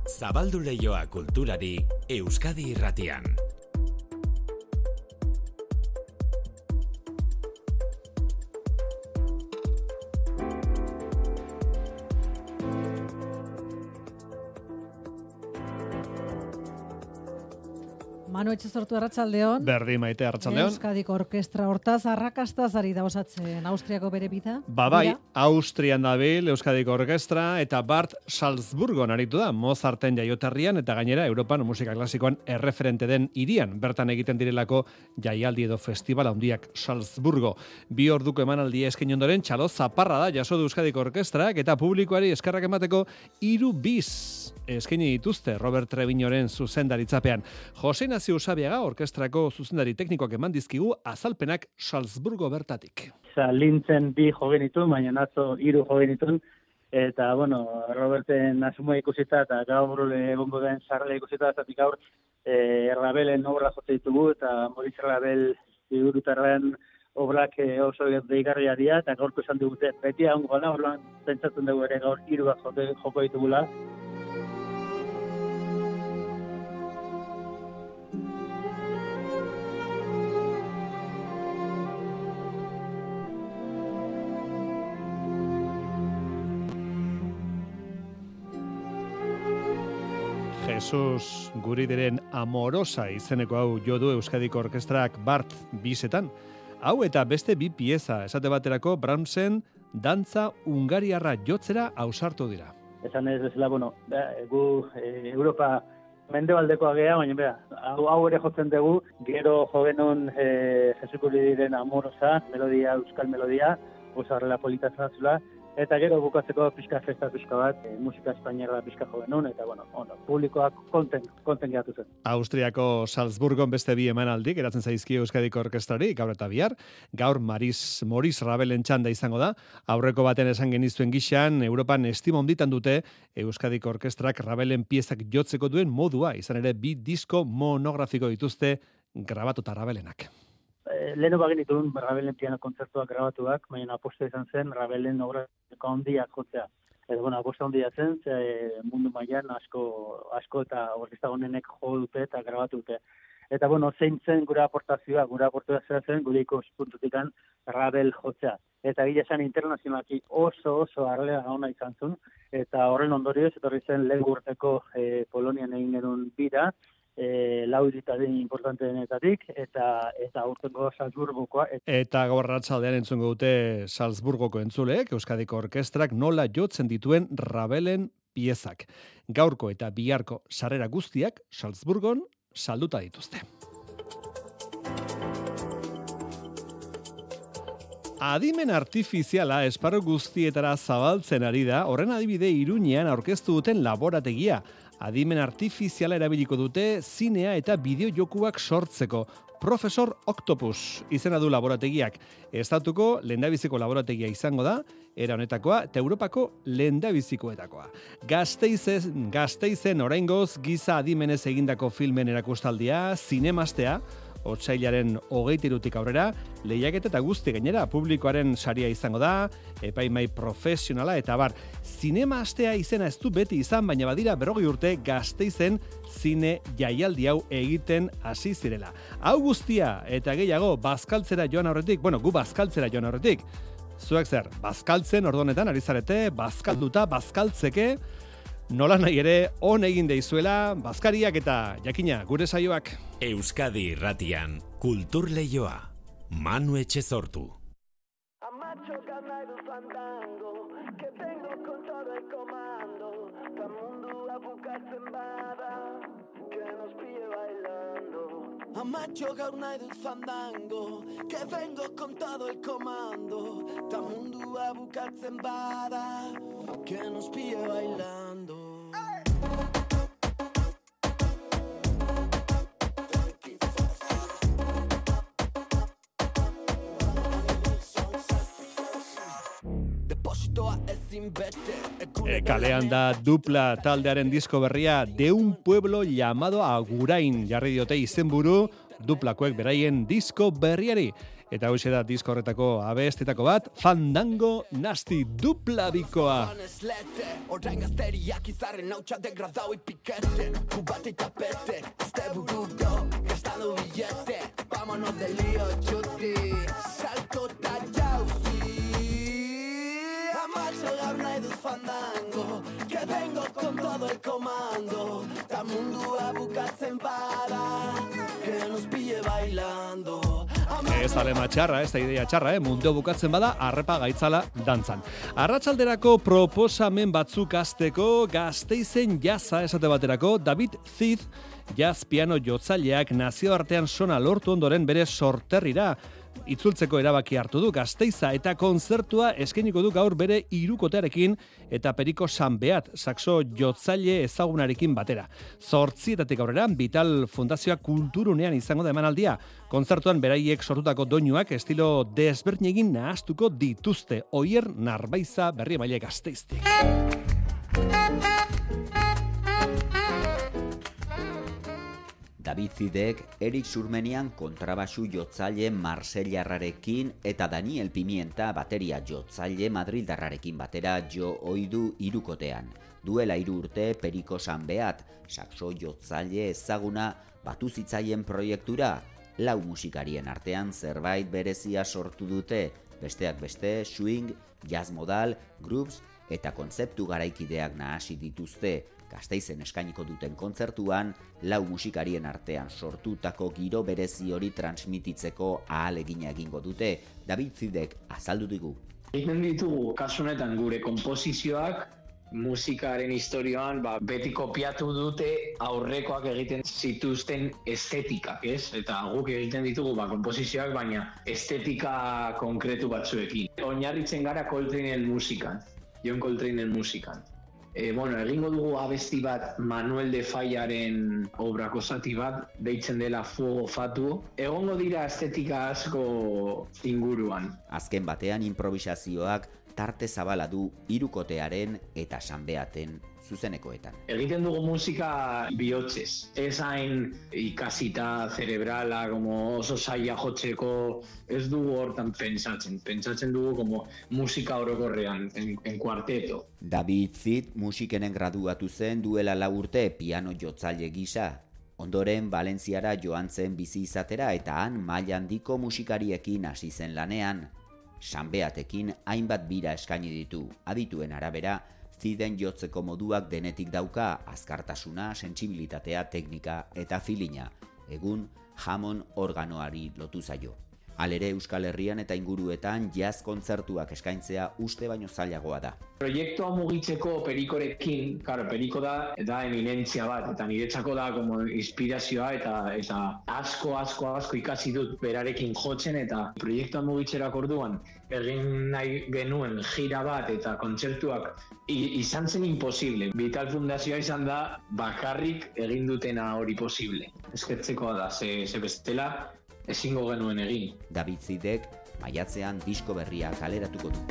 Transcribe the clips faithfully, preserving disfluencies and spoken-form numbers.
Zabaldu leioa kulturari Euskadi Irratian. Manu Etxezortu arratsaldeon. Berdi Maite arratsaldeon. Euskadiko orkestra hortaz arrakastaz ari da osatzen Austriako bere bida. Ba bai, Austrian dabil Euskadiko orkestra eta Bart Salzburgon aritu da Mozarten jaioterrian eta gainera Europan musika klasikoan erreferente den hirian bertan egiten direlako jaialdi edo festival handiak Salzburgo. Bi orduko emanaldia eskaini ondoren txalo zaparra da jaso du Euskadiko orkestrak eta publikoari eskerrak emateko hiru bis eskaini dituzte Robert Treviñoren zuzendaritzapean. Jose Ignacio Usabiaga orkestrako zuzendari teknikoak eman dizkigu azalpenak Salzburgo bertatik. Lintzen bi jo genituen, baina atzo hiru jo genituen, eta, bueno, Roberten asumua ikusita eta gaur egongo den sarrela ikusita, eta gaur eh, Rabelen obra jote ditugu, eta Moritz Rabel figurutarren obrak oso deigarria dira, eta gaurko esan digute, beti egongo gana, orduan pentsatzen dugu ere gaur hiru bat jote joko ditugula. Jesus Guridiren Amorosa izeneko hau jo du Euskadiko orkestrak Bart bisetan. Hau eta beste bi pieza, esate baterako Brahmsen dantza hungariarra jotzera ausartu dira. Esan ez bezala, bueno, da, gu e, Europa mendebaldekoa gea, baina bera, hau, hau ere jotzen dugu, gero jovenon e, Jesus Guridiren Amorosa, melodia, euskal melodia, oso horrela polita zazula, eta gero bukatzeko pixka festa pixka bat, e, musika espainiarra pixka jo genuen, eta bueno, ono, publikoak konten, konten geratu zen. Austriako Salzburgon beste bi emanaldik eratzen zaizkio Euskadiko orkestrari, gaur eta bihar, gaur Maris, Moritz Rabelen txanda izango da, aurreko baten esan geniztuen gixan, Europan estima onditan dute Euskadiko orkestrak Rabelen piezak jotzeko duen modua, izan ere bi disko monografiko dituzte grabatuta Rabelenak. Leheno bagin dituen Rabelen piano kontzertuak grabatuak, baina aposta izan zen Rabelen obrateko handiak jotzea. Eta, bueno, aposta handia zen, ze mundu mailan asko, asko eta orkestra honenek jo dute eta grabatu dute. Eta, bueno, zein zen gure aportazioa, gure aportazioa zen gure ikuspuntutikan Rabel jotzea. Eta gila zen internazionalki oso oso arlea gauna izan zuen, eta horren ondorioz, etorri zen lehen urteko e, Polonian egin genuen bira, E, lau iritaren importanteenetatik, eta eta aurtengo Salzburgokoa. Et... Eta gaur arratsaldean entzungo dute Salzburgoko entzuleek, Euskadiko orkestrak nola jotzen dituen Rabelen piezak. Gaurko eta biharko sarrera guztiak Salzburgon salduta dituzte. Adimen artifiziala esparru guztietara zabaltzen ari da, horren adibide Iruñean aurkeztu duten laborategia. Adimen artifiziala erabiliko dute zinea eta bideojokuak sortzeko. Profesor Octopus izena du laborategiak. Estatuko lehendabiziko laborategia izango da, era honetakoa eta Europako lehendabizikoetakoa. Gasteizen, Gasteizen oraingoz giza adimenez egindako filmen erakustaldia, zinemastea, otsailaren hogeita hirutik aurrera, lehiaketa eta guzti gainera publikoaren saria izango da, epaimai profesionala eta bar. Zinema astea izena ez du beti izan, baina badira berrogei urte Gasteizen zine jaialdi hau egiten hasi zirela. Hau guztia eta gehiago bazkaltzera joan aurretik, bueno, gu bazkaltzera joan aurretik. Zuek zer, bazkaltzen ordonetan ari zarete, bazkalduta, bazkaltzeke, nola nahi ere on egin deizuela, bazkariak eta jakina gure saioak. Euskadi Irratian, Kultur Leioa, Manu Etxezortu. Amacho nahi du fandango, que tengo con todo el comando, ta mundua bukatzen bada, que nos pille bailando. Amacho gaur nahi dut fandango, que vengo con todo el comando, ta mundua bukatzen bada, que nos pille bailando. E, kalean da dupla taldearen disko berria De un pueblo llamado Agurain jarri diote izenburu duplakoek beraien disko berriari. eta hoxe da disko horretako abestetako bat, Fandango Nasty dupla bikoa. Orain gazteriak izarren hautsa degradau ipikete Kubate y tapete, este burudo gastando billete Vámonos de lío, chuti Salto ta jauzi Amacho gaur nahi dut fandango Que vengo con todo el comando Ta mundua bukatzen bada Que nos pille bailando Ez alema txarra, ez da idea txarra, eh? Mundu bukatzen bada, arrepa gaitzala dantzan. Arratsalderako proposamen batzuk azteko, Gasteizen jaza esate baterako, David Cid, jazz piano jotzaileak nazioartean sona lortu ondoren bere sorterrira itzultzeko erabaki hartu du Gasteiza eta kontzertua eskainiko du gaur bere hirukotearekin eta Periko Sanbeat saxo jotzaile ezagunarekin batera. Zortzietatik aurrera Vital Fundazioa Kulturunean izango da emanaldia. Kontzertuan beraiek sortutako doinuak estilo desberdinegin nahastuko dituzte. Oier Narbaiza Berri Emaile Gasteiztik. David Cidek, Erik Surmenian kontrabasu jotzaile marsellarrarekin eta Daniel Pimienta bateria jotzaile madrildarrarekin batera jo oidu hirukotean. Duela hiru urte Periko Sanbeat, saxo jotzaile ezaguna batu zitzaien proiektura, lau musikarien artean zerbait berezia sortu dute, besteak beste, swing, jazz modal, groups eta kontzeptu garaikideak nahasi dituzte. Gasteizen eskainiko duten kontzertuan, lau musikarien artean sortutako giro berezi hori transmititzeko ahalegina egingo dute. David Cidek azaldu digu. Egiten ditugu, kasu honetan gure konposizioak, musikaren historioan ba, beti kopiatu dute aurrekoak egiten zituzten estetikak, ez? Eta guk egiten ditugu ba, konposizioak, baina estetika konkretu batzuekin. Oinarritzen gara Coltrane'en musikan, John Coltrane'en musikan. E, bueno, egingo dugu abesti bat Manuel de Fallaren obrako zati bat, deitzen dela Fuego Fatuo. Egongo dira estetika asko inguruan. Azken batean improvisazioak tarte zabala du hirukotearen eta Sanbeaten zuzenekoetan. Egiten dugu musika bihotzez. Ez hain ikasita cerebrala, como oso zaila jotzeko, ez dugu hortan pentsatzen. Pentsatzen dugu como musika orokorrean, en, en kuarteto. David Cid musikenen graduatu zen duela lau urte piano jotzaile gisa. Ondoren Valentziara joan zen bizi izatera eta han maila handiko musikariekin hasi zen lanean. Sanbeatekin hainbat bira eskaini ditu. Adituen arabera, Ciden jotzeko moduak denetik dauka, azkartasuna, sentsibilitatea, teknika eta filina. Egun, jamon organoari lotu zaio. Halere Euskal Herrian eta inguruetan jazz kontzertuak eskaintzea uste baino zailagoa da. Proiektua mugitzeko Perikorekin, claro, Periko da, da eminentzia bat, eta niretzako da como inspirazioa eta eta asko, asko, asko ikasi dut berarekin jotzen, eta proiektua mugitzerako orduan egin nahi genuen gira bat eta kontzertuak izan zen imposible. Vital Fundazioa izan da bakarrik egin dutena hori posible. Eskertzekoa da, ze, ze bestela ezingo genuen egin. David Cidek maiatzean disko berria kaleratuko du.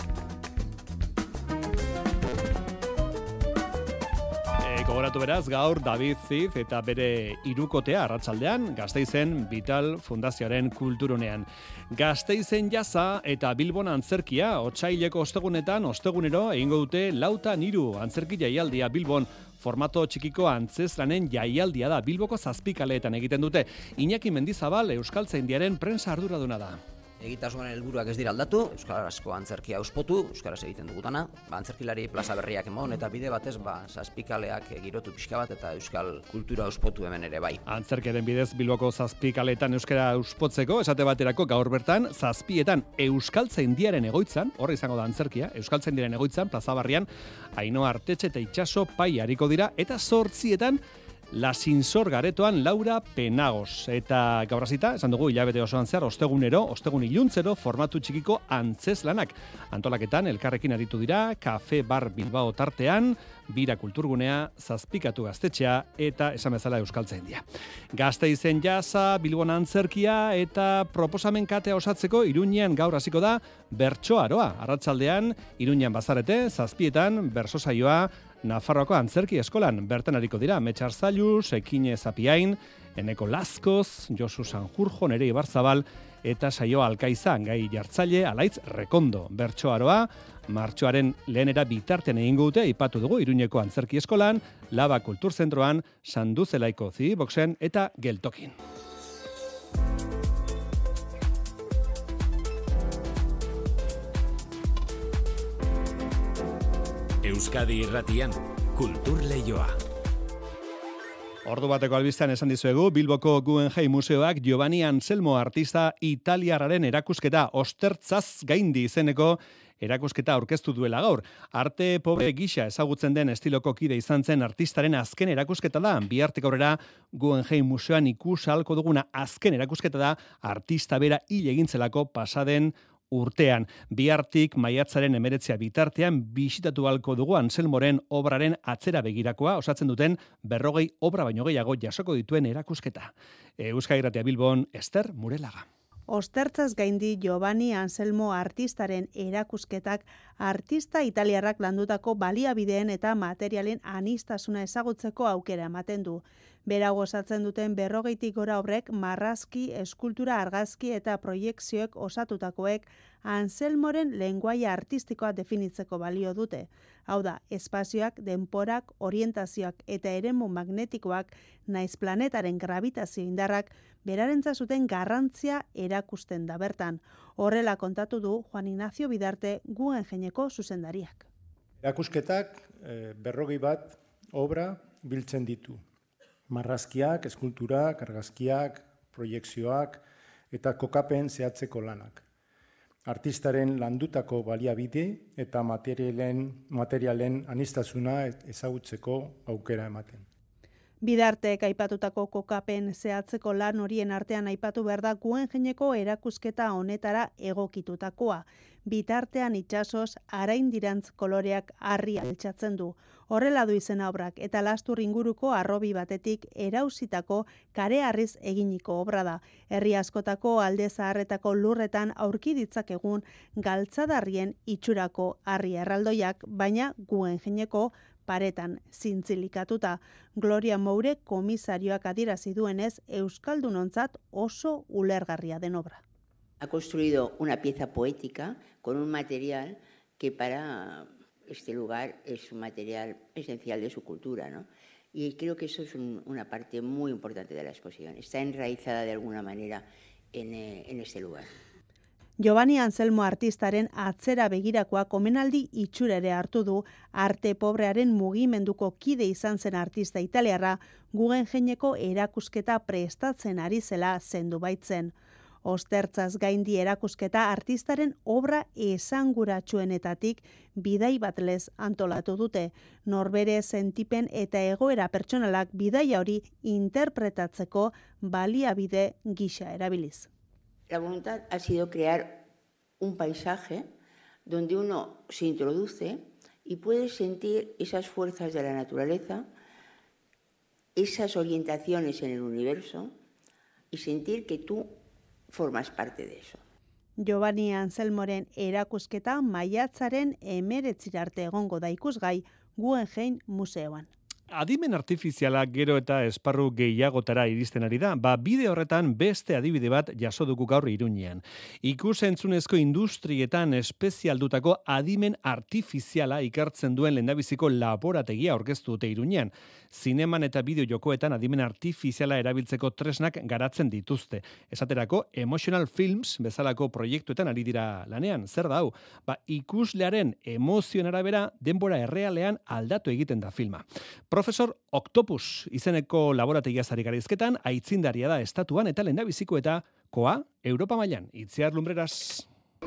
E, gogoratu beraz, gaur David Cid eta bere hirukotea arratsaldean Gasteizen Vital Fundazioaren kulturunean. Gasteizen jaza eta Bilbon antzerkia otsaileko ostegunetan ostegunero egingo dute lautan hiru antzerki jaialdia Bilbon. Formato txikiko antzeslanen jaialdia da Bilboko zazpikaleetan egiten dute. Iñaki Mendizabal Euskaltzaindiaren prensa arduraduna da. Egitasmoaren helburuak ez dira aldatu, euskarazko antzerkia auspotu, euskaraz egiten dugutana, ba, antzerkilari plaza berriak emon eta bide batez ba, zazpikaleak girotu pixka bat eta euskal kultura auspotu hemen ere bai. Antzerkiaren bidez Bilboko zazpikaleetan euskara auspotzeko, esate baterako gaur bertan zazpietan Euskaltzaindiaren egoitzan, horre izango da antzerkia, Euskaltzaindiaren egoitzan, plaza barrian, Ainhoa Artetxe eta Itxaso pai hariko dira, eta zortzietan La Sinsor Garetoan Laura Penagos. Eta gaur hasita, esan dugu hilabete osoan zehar, ostegunero, ostegun iluntzero, formatu txikiko antzeslanak. Antolaketan, elkarrekin aritu dira, Kafe Bar Bilbao tartean, Bira Kulturgunea, Zazpikatu Gaztetxea eta esan bezala Euskaltzaindia. Gasteizen jaza, Bilbon antzerkia eta proposamen katea osatzeko Iruñean gaur hasiko da Bertso Aroa. Arratsaldean Iruñean bazarete, zazpietan, berso saioa Nafarroako antzerki eskolan bertan ariko dira Metxar Zailuz, Ekine Zapiain, Eneko Lazkoz, Josu Sanjurjo, Nerei Barzabal eta saio alkaizan gai jartzaile Alaitz Rekondo. Bertsoaroa martxoaren lehenera bitartean egingo dute, aipatu dugu Iruñeko Antzerki Eskolan, Laba Kulturzentroan, Sanduzelaiko Zibiboxen eta Geltokin. Euskadi Irratian, Kultur Leioa. Ordu bateko albistean esan dizuegu, Bilboko Guggenheim Museoak Giovanni Anselmo artista italiarraren erakusketa Ostertzaz gaindi izeneko erakusketa aurkeztu duela gaur. Arte pobre gisa ezagutzen den estiloko kide izan zen artistaren azken erakusketa da. Bihartik aurrera Guggenheim Museoan ikus ahalko duguna azken erakusketa da artista bera hil egintzelako pasaden urtean. Bihartik maiatzaren emeretzia bitartean bisitatu halko dugu Anselmoren obraren atzera begirakoa osatzen duten berrogei obra baino gehiago jasoko dituen erakusketa. Euskadi Irratia Bilbon, Ester Murelaga. Ostertzaz gaindi Giovanni Anselmo artistaren erakusketak artista italiarrak landutako baliabideen eta materialen anistasuna ezagutzeko aukera ematen du. Bera osatzen duten berrogeitik gora obrek marrazki, eskultura, argazki eta proiekzioek osatutakoek Anselmoren lenguaia artistikoa definitzeko balio dute. Hau da, espazioak, denporak, orientazioak eta eremu magnetikoak naiz planetaren gravitazio indarrak berarentzat zuten garrantzia erakusten da bertan. Horrela kontatu du Juan Ignacio Bidarte Guggenheimeko zuzendariak. Erakusketak eh, berrogei bat obra biltzen ditu. Marrazkiak, eskulturak, argazkiak, proiekzioak eta kokapen zehatzeko lanak. Artistaren landutako baliabide eta materialen, materialen anistasuna ezagutzeko aukera ematen. Bidartek aipatutako kokapen zehatzeko lan horien artean aipatu behar da Guggenheimeko erakusketa honetara egokitutakoa. Bitartean itsasoz araindirantz koloreak harri altxatzen du. Horrela du izena obrak eta Lastur inguruko harrobi batetik erausitako kareharriz eginiko obra da. Herri askotako alde zaharretako lurretan aurki ditzakegun galtzadarrien itxurako harri erraldoiak, baina Guggenheimeko paretan zintzilikatuta. Gloria Moure komisarioak adierazi duenez euskaldunontzat oso ulergarria den obra. Ha construido una pieza poética con un material que para este lugar es un material esencial de su cultura, ¿no? Y creo que eso es un, una parte muy importante de la exposición. Está enraizada de alguna manera en, eh, en este lugar. Giovanni Anselmo artistaren atzera begirakoa komenaldi itxura ere hartu du arte pobrearen mugimenduko kide izan zen artista italiarra Guggenheimeko erakusketa prestatzen ari zela zendu baitzen. Ostertzaz gaindi erakusketa artistaren obra esanguratsuenetatik bidai bat lez antolatu dute. Norbere sentipen eta egoera pertsonalak bidaia hori interpretatzeko baliabide gisa erabiliz. La voluntad ha sido crear un paisaje donde uno se introduce y puede sentir esas fuerzas de la naturaleza, esas orientaciones en el universo y sentir que tú formas parte de eso. Giovanni Anselmoren erakusketa maiatzaren hemeretzira arte egongo da ikusgai Guggenheim Museoan. Adimen artifiziala gero eta esparru gehiagotara iristen ari da, ba bide horretan beste adibide bat jaso dugu gaur Iruñean. Ikus-entzunezko industrietan espezialdutako adimen artifiziala ikartzen duen lehendabiziko laborategia aurkeztu dute Iruñean. Zineman eta bideo jokoetan adimen artifiziala erabiltzeko tresnak garatzen dituzte. Esaterako, Emotional Films bezalako proiektuetan ari dira lanean. Zer da hau? Ba, ikuslearen emozioen arabera denbora errealean aldatu egiten da filma. Profesor Octopus izeneko laborategia zari garizketan, aitzindaria da estatuan eta lehendabiziko eta koa Europa mailan. Itziar Lumbreras.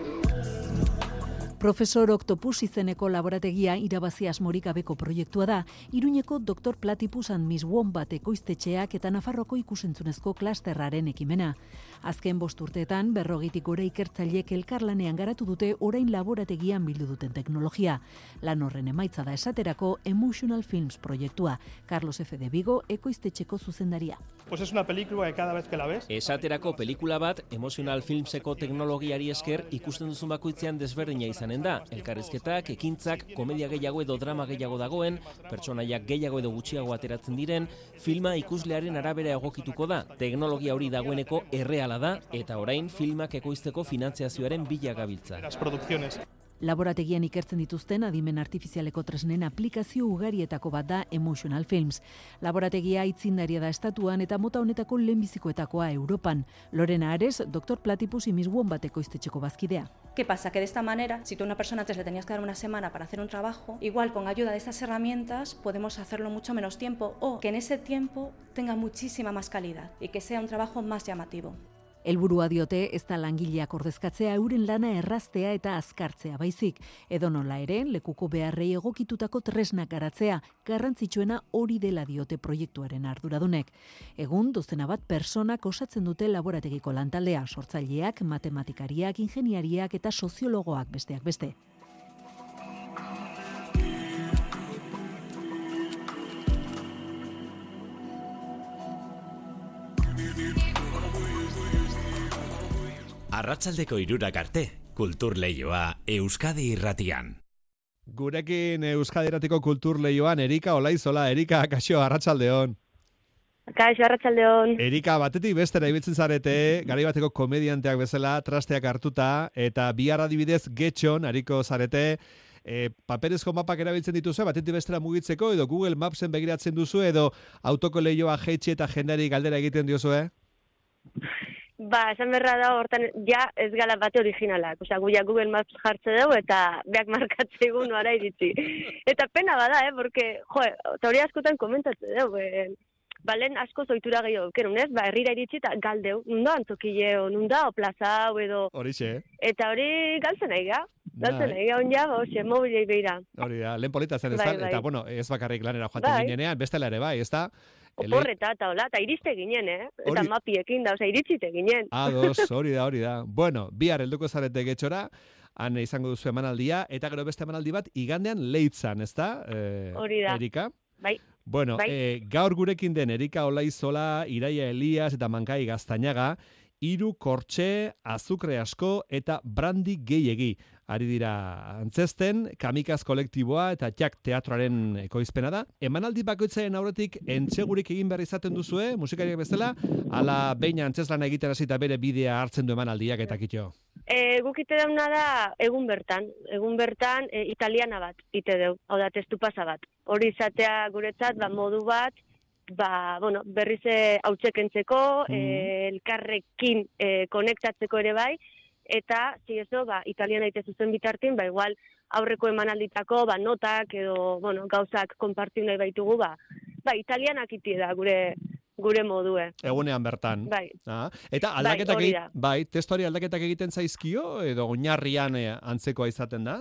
Profesor Octopus izeneko laborategia irabazi asmorik gabeko proiektua da, Iruñeko Doktor Platypus and Miss Wombat ekoiztetxeak eta Nafarroko ikusentzunezko klasterraren ekimena. Azken bost urteetan, berrogetik gora ikertzaileek elkarlanean garatu dute orain laborategian bildu duten teknologia. Lan horren emaitza da esaterako Emotional Films proiektua. Carlos F. de Vigo, ekoiztetxeko zuzendaria. Pues es una película que cada vez que la ves... Esaterako pelikula bat, Emotional Filmseko teknologiari esker ikusten duzun bakoitzean desberdina izan izanen da. Elkarrizketak, ekintzak, komedia gehiago edo drama gehiago dagoen, pertsonaiak gehiago edo gutxiago ateratzen diren, filma ikuslearen arabera egokituko da. Teknologia hori dagoeneko erreala da, eta orain filmak ekoizteko finantziazioaren bila gabiltza. Las producciones. Laborategian ikertzen dituzten adimen artifizialeko tresnen aplikazio ugarietako bat da Emotional Films. Laborategia aitzindaria da estatuan eta mota honetako lehenbizikoetakoa Europan. Lorena Ares, doktor Platypus y Miss Wombat ekoiztetxeko bazkidea. ¿Qué pasa? Que de esta manera, si tú a una persona antes le tenías que dar una semana para hacer un trabajo, igual con ayuda de estas herramientas podemos hacerlo mucho menos tiempo o que en ese tiempo tenga muchísima más calidad y que sea un trabajo más llamativo. Helburua diote ez da langileak ordezkatzea euren lana erraztea eta azkartzea baizik. Edonola ere, lekuko beharrei egokitutako tresnak garatzea, garrantzitsuena hori dela diote proiektuaren arduradunek. Egun, dozena bat personak osatzen dute laborategiko lantaldea, sortzaileak, matematikariak, ingeniariak eta soziologoak besteak beste. Arratsaldeko hirurak arte, kultur leioa Euskadi Irratian. Gurekin Euskadi Irratiko kultur leioan Erika Olaizola. Erika, kaixo, arratsaldeon. Kaixo, arratsaldeon. Erika, batetik bestera ibiltzen zarete, garai bateko komedianteak bezala, trasteak hartuta, eta bihar adibidez getxon, ariko zarete, e, paperezko mapak erabiltzen dituzu, batetik bestera mugitzeko, edo Google Mapsen begiratzen duzu, edo autoko leioa jeitsi eta jendari galdera egiten diozu, eh? Ba, esan berra da, hortan, ja ez gala bate originalak. Osea, gu ja Google Maps jartze dugu eta beak markatze egun noara iritsi. Eta pena bada, eh, porque, jo, eta hori askotan komentatze dugu, eh, balen asko zoitura gehiago dukerun, ez? Ba, herrira iritsi eta galdeu, nunda antzokileo, nunda o plaza, edo... Horixe, eh? Eta hori galtzen nahi ga. Galtzen nahi ga, onja, ba, hoxe, mobilei beira. Hori da, lehen polita zen ez da, Bai, bai. eta, bueno, ez bakarrik lanera joaten Bai. ginenean, bestela ere bai, ez da? Oporreta eta hola, eta iriste ginen, eh? Eta Hori- mapiekin da, osea, iritsite ginen. Ados, hori da, hori da. Bueno, bihar helduko zarete getxora, han izango duzu emanaldia, eta gero beste emanaldi bat igandean Leitzan, ez da? Eh, Hori da. Erika? Bai. Bueno, Bai. eh, gaur gurekin den Erika Olaizola, Iraia Elias eta Mankai Gaztañaga, hiru kortxe, azukre asko eta brandi gehiegi. Ari dira antzesten, Kamikaz kolektiboa eta Jak teatroaren ekoizpena da. Emanaldi bakoitzaren aurretik entsegurik egin behar izaten duzue, musikariak bezala, ala behin antzeslana egiten hasita bere bidea hartzen du emanaldiak eta kitxo. E, guk ite dauna da egun bertan, egun bertan e, italiana bat ite deu, hau da testu pasa bat. Hori izatea guretzat, ba, modu bat, ba, bueno, berriz hautsekentzeko, mm. e, elkarrekin e, konektatzeko ere bai, eta, si eso, ba, italiana ite zuzen bitartin, ba, igual aurreko emanalditako, ba, notak edo, bueno, gauzak konpartiu nahi baitugu, ba, ba, italianak iti da gure gure modue. Egunean bertan. Bai. Ah, eta aldaketak hori egit, da. bai, testuari aldaketak egiten zaizkio edo oinarrian eh, antzekoa izaten da?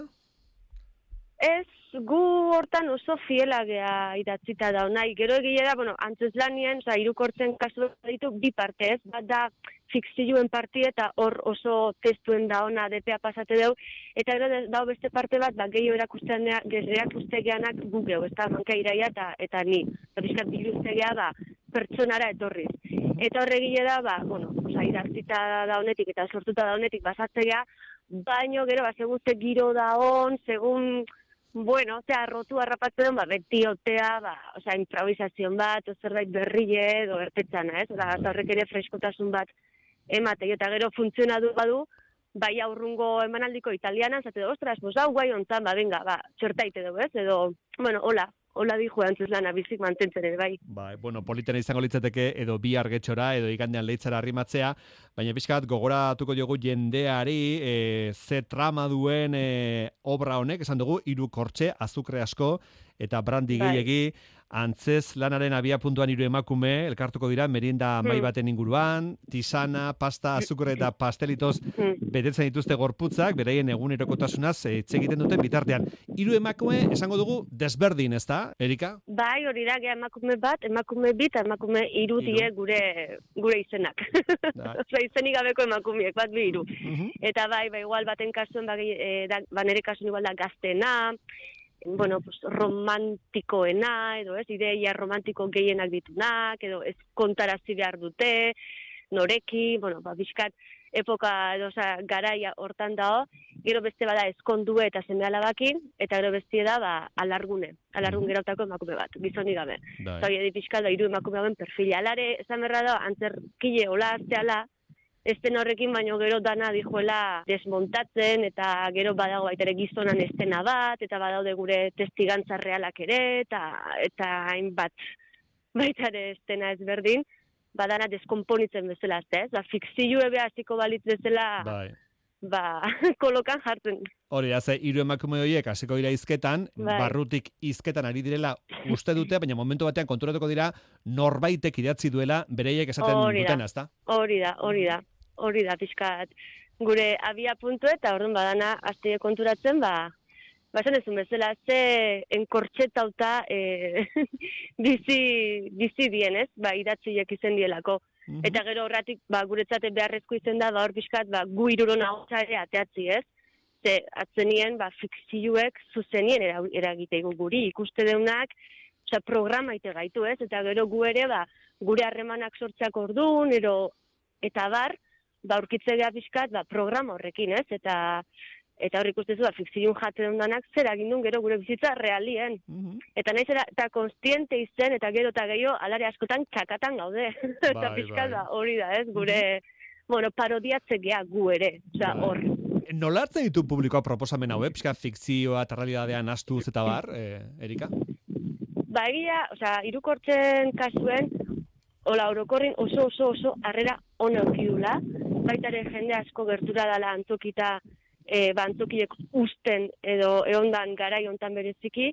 Ez, gu hortan oso fiela gea idatzita da, nahi, gero egia da, bueno, antzeslanien, oza, irukortzen kasu ditu bi parte, ez, bat da fikzioen parti eta hor oso testuen da ona depea pasate deu, eta gero dago beste parte bat, ba, gehiago erakustegeanak gu geu, ez da, manka iraia eta, eta ni, eta bizkat biluztegea, ba, pertsonara etorriz. Eta horregile da, ba, bueno, oza, idatzita da honetik eta sortuta da honetik basatzea, baino gero, ba, segun ze giro da on, segun, bueno, osea, rotu harrapatzen, ba, beti otea, ba, osea, improvisazion bat, o zerbait berrile edo ertetzana, ez? Oza, horrek ere freskotasun bat emate, eta gero funtzionatu badu, bai aurrungo emanaldiko italiana, zate, ostras, pues hau guai ontzan, ba, venga, ba, txortaite dugu, ez? Edo, bueno, hola, hola dijo antzeslana bizik mantentzen ere, bai. Bai, bueno, politena izango litzateke edo bihar getxora edo igandean Leitzara arrimatzea, baina pixkat gogoratuko diogu jendeari e, ze trama duen e, obra honek, esan dugu, hiru kortxe, azukre asko eta brandi Bai. gehiegi, antzez lanaren abia puntuan hiru emakume, elkartuko dira, merienda mai Hmm. baten inguruan, tisana, pasta, azukre eta pastelitoz betetzen dituzte gorputzak, beraien egunerokotasunaz hitz egiten duten bitartean. Hiru emakume, esango dugu, desberdin, ez da, Erika? Bai, hori da, geha emakume bat, emakume bit, emakume hiru die gure, gure izenak. Osea, izenik gabeko emakumeek, bat bi hiru. Eta bai, bai, igual baten kasuen, ba, e, da, ba nere kasuen igual da gaztena, bueno, pues, romantikoena, edo ez, ideia romantiko gehienak ditunak, edo ez kontarazi behar dute, noreki, bueno, ba, bizkat, epoka, edo, oza, garaia hortan dago, gero beste bada ezkondue eta seme alabakin, eta gero bestie da ba, alargune, alargun gerautako emakume bat, gizonik gabe. Zoi edi pixka da, hiru emakume hauen perfila. Alare, esan berra da, antzerkile hola azteala, esten horrekin baino gero dana dijoela desmontatzen, eta gero badago baita ere gizonan estena bat, eta badaude gure testigantza realak ere, eta eta hainbat baita ere estena ezberdin, badana deskonponitzen bezala, ez? Ba, fikzio ebe hasiko balitz bezala, bai. Ba, kolokan jartzen. Hori, haze, hiru emakume horiek hasiko dira hizketan, bai. Barrutik hizketan ari direla uste dute, baina momentu batean konturatuko dira norbaitek idatzi duela bereiek esaten dutena, ezta? Hori da, hori da, hori da, pixkat. Gure abia puntu eta orduan badana azte konturatzen, ba, ba esan ezun bezala, ze enkortxetauta e, dizi, dizi dienez, ba, idatziek izen dielako. Mm-hmm. Eta gero horratik, ba, guretzate beharrezko izen da, ba, hor pixkat, ba, gu irurona hotza ere ateatzi, ez? Ze, atzenien, ba, fikzioek zuzenien eragiteigu guri, ikuste deunak, oza, programa ite gaitu, ez? Eta gero gu ere, ba, gure harremanak sortzeak orduan, ero, eta bar, ba, urkitze geha pixkat, ba, programa horrekin, ez? Eta, eta hor ikustezu, ba, fikzioen jate dundanak, zer agindun gero gure bizitza realien. Mm-hmm. Eta nahiz, eta konstiente izen, eta gero eta gehiago, alare askotan txakatan gaude. Bai, eta pixkat, ba, hori da, ez? Gure, mm-hmm. bueno, parodiatze geha gu ere, oza, hor. Nola hartzen ditu publikoa proposamen hau, eh? Pixka fikzioa eta realidadean astuz eta bar, eh, Erika? Ba, egia, oza, irukortzen kasuen, hola, orokorrin oso, oso, oso, harrera ona eukidula, baitare jende asko gertura dala antokita, e, bantzokiek usten edo eondan garai hontan bereziki,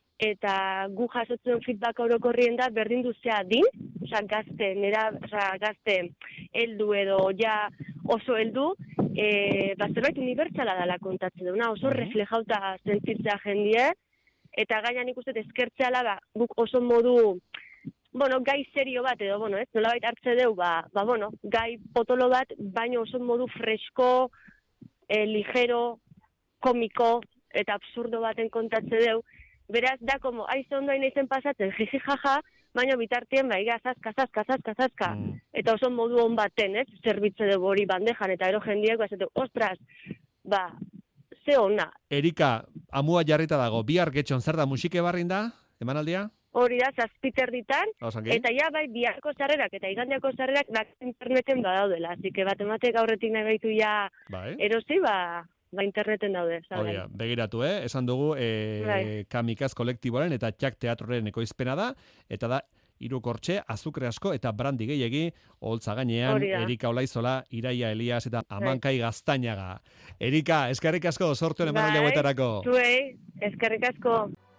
eta gu jasotzen feedback orokorrien da berdin duzea din, oza, gazte, nera, oza, gazte heldu edo ja oso heldu, e, ba, zerbait unibertsala dela kontatzen duna, oso reflejauta sentitzea jendie, eta gainan ikustet eskertzeala, ba, guk oso modu, bueno, gai serio bat edo, bueno, ez, nolabait hartze deu, ba, ba, bueno, gai potolo bat, baino oso modu fresko, E, ligero, komiko eta absurdo baten kontatze deu. Beraz, da, como, aize ondo hain eizen pasatzen, jiji jaja, baina bitartien, ba, iga, zazka, zazka, zazka, zazka. Mm. Eta oso modu hon baten, ez, zerbitze dugu hori bandejan, eta ero jendiek, ba, zete, ostras, ba, ze ona. Erika, amua jarrita dago, bihar getxon zer da musike barrin da, emanaldia? Hori da, zazpiter ditan, eta ja, bai, biharko zarrerak eta igandeako zarrerak bak interneten badaudela, así que bat ematek aurretik nahi baitu ja bai. Erosi, ba, ba interneten daude. Hori da, begiratu, eh? Esan dugu, e, bai. Kamikaz kolektiboaren eta Txak teatroren ekoizpena da, eta da, irukortxe, azukre asko eta brandi gehiegi, holtza gainean, Erika Olaizola, Iraia Elias eta Amankai Gaztainaga. Erika, eskerrik asko, sortu bai. Emanaldi hauetarako. Zuei, eskerrik asko.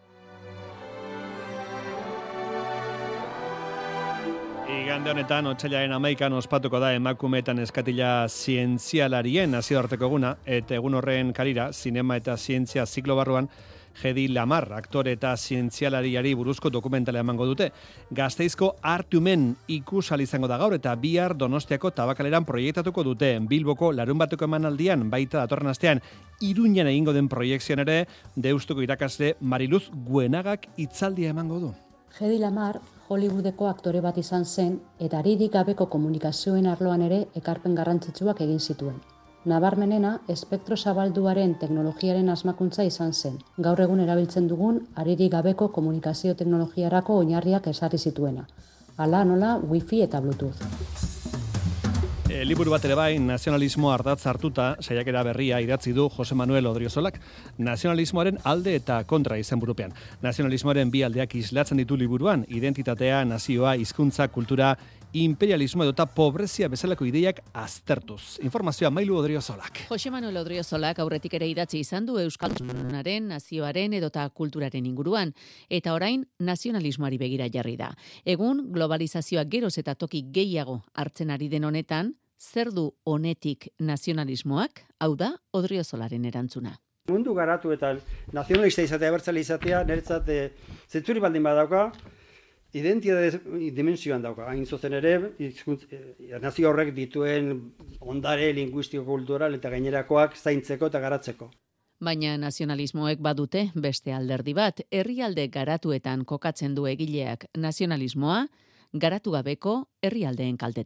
Igande honetan, otsailaren hamaikan ospatuko da emakumeetan eskatila zientzialarien nazioarteko eguna, eta egun horren karira, zinema eta zientzia ziklo barruan, Hedy Lamarr, aktore eta zientzialariari buruzko dokumentala emango dute. Gasteizko Artumen ikusal izango da gaur eta bihar Donostiako Tabakaleran proiektatuko dute. Bilboko larun bateko emanaldian, baita datorren astean, Iruñan egingo den proiekzioan ere, Deustuko irakasle Mariluz Guenagak hitzaldia emango du. Hedy Lamarr Hollywoodeko aktore bat izan zen eta haririk gabeko komunikazioen arloan ere ekarpen garrantzitsuak egin zituen. Nabarmenena, espektro zabalduaren teknologiaren asmakuntza izan zen. Gaur egun erabiltzen dugun haririk gabeko komunikazio teknologiarako oinarriak ezarri zituena. Hala nola, wifi eta bluetooth. E, liburu bat ere bai, nazionalismo ardatz hartuta, saiakera berria idatzi du Jose Manuel Odriozolak, nazionalismoaren alde eta kontra izenburupean. Nazionalismoaren bi aldeak islatzen ditu liburuan, identitatea, nazioa, hizkuntza, kultura, imperialismo edota pobrezia bezalako ideiak aztertuz. Informazioa Mailu Odriozolak. Jose Manuel Odriozolak aurretik ere idatzi izan du euskaltasunaren, nazioaren edota kulturaren inguruan, eta orain nazionalismoari begira jarri da. Egun, globalizazioak geroz eta toki gehiago hartzen ari den honetan, zer du honetik nazionalismoak? Hau da, Odriozolaren erantzuna. Mundu garatu eta nazionalista izatea, abertzale izatea, niretzat zentzuri baldin badauka, identitate dimensioan dauka. Hain zuzen ere, izkuntz, nazio horrek dituen ondare linguistiko kultural eta gainerakoak zaintzeko eta garatzeko. Baina nazionalismoek badute beste alderdi bat, herrialde garatuetan kokatzen du egileak nazionalismoa, garatu gabeko herrialdeen kaltetan.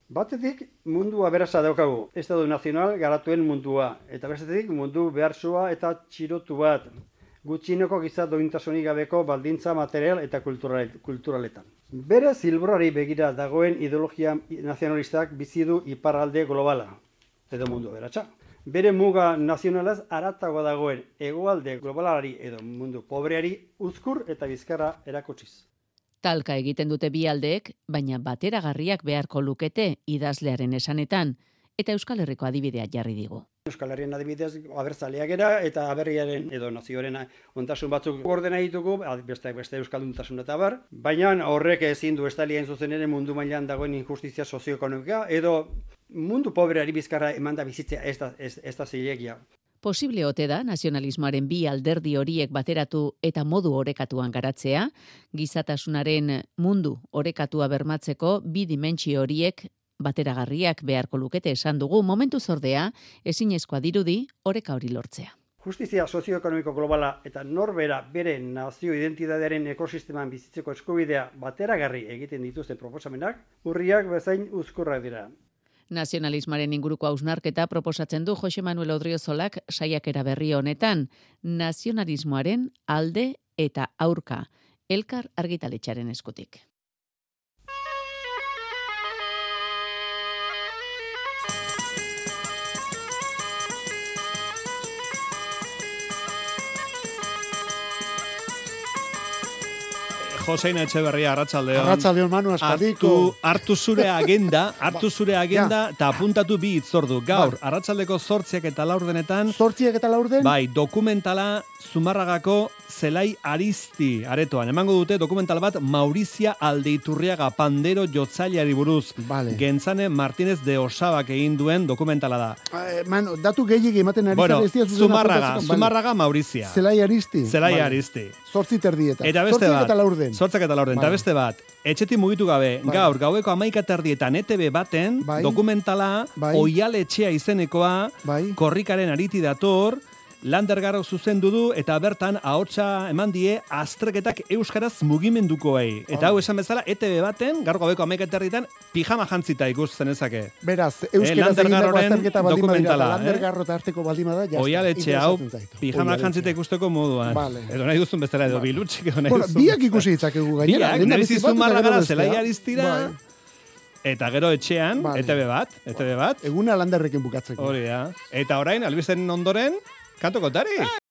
Batetik mundu aberasa daukagu, Estado Nazional garatuen mundua, eta bestetik mundu behartsua eta txirotu bat, gutxineko giza dointasunik gabeko baldintza material eta kulturaletan. Bere zilborari begira dagoen ideologia nazionalistak bizi du iparralde globala, edo mundu aberatsa. Bere muga nazionalaz haratago dagoen hegoalde globalari edo mundu pobreari uzkur eta bizkarra erakutsiz. Talka egiten dute bi aldeek, baina bateragarriak beharko lukete idazlearen esanetan, eta Euskal Herriko adibidea jarri digu. Euskal Herrien adibidez abertzaleak era eta aberriaren edo nazioaren ontasun batzuk ordena ditugu, besteak beste euskalduntasun eta bar, baina horrek ezin du estalien zuzen ere mundu mailan dagoen injustizia sozioekonomika edo mundu pobreari bizkarra emanda bizitzea ez da, ez, ez da zilegia. Posible ote da nazionalismoaren bi alderdi horiek bateratu eta modu orekatuan garatzea, gizatasunaren mundu orekatua bermatzeko bi dimentsio horiek bateragarriak beharko lukete esan dugu, momentu zordea ezinezkoa dirudi oreka hori lortzea. Justizia sozioekonomiko globala eta norbera bere nazio identitatearen ekosisteman bizitzeko eskubidea bateragarri egiten dituzten proposamenak, urriak bezain uzkurrak dira. Nazionalismoaren inguruko hausnarketa proposatzen du Jose Manuel Odriozolak saiakera berri honetan, nazionalismoaren alde eta aurka, Elkar argitaletxearen eskutik. Josein Etxeberria, arratsaldeon. Arratsaldeon, Manu, aspaldiko. Hartu, hartu zure agenda, hartu zure agenda, eta apuntatu bi hitzordu. Gaur, arratsaldeko zortziak eta laurdenetan. Zortziak eta laurden? Bai, dokumentala Zumarragako Zelai Aristi aretoan. Emango dute dokumental bat Maurizia Aldeiturriaga pandero jotzaileari buruz. Vale. Gentzane Martínez de Osabak egin duen dokumentala da. Eh, Manu, datu gehiegi ematen ari bueno, zara. Zumarraga, Zumarraga Maurizia. Zelai Aristi. Zelai vale. Aristi. Zortzi terdietan. Eta beste bat. Eta laurden. Zortzak eta laurden. Eta Vale. beste bat. Etxetik mugitu gabe, Bai. gaur, gaueko amaika terdietan E T B baten, Bai. dokumentala, Bai. Oialetxea izenekoa, Bai. korrikaren ariti dator, Landergarro zuzendu du eta bertan ahotsa eman die azterketak euskaraz mugimendukoei. Eta hau esan bezala E T B baten, gaur gaueko amaika terdietan, pijama jantzita ikus zenezake. Beraz, euskaraz egindako azterketa baldin badira, Landergarro eh? eta arteko baldin bada, jazta. Oialetxe hau, pijama jantzita ikusteko moduan. Vale. Edo nahi duzun bezala, edo Vale. bilutxik, edo nahi Bueno, duzun. biak ikusi ditzakegu gainera. Biak, Lehena nebizi bizi bat eta Zumarragara gero bestea. Zelai Aristira, Bai. eta gero etxean, Vale. E T B bat, E T B bat. Eguna Landerrekin bukatzeko. Hori da. Eta orain, albisten ondoren, kanto kontari.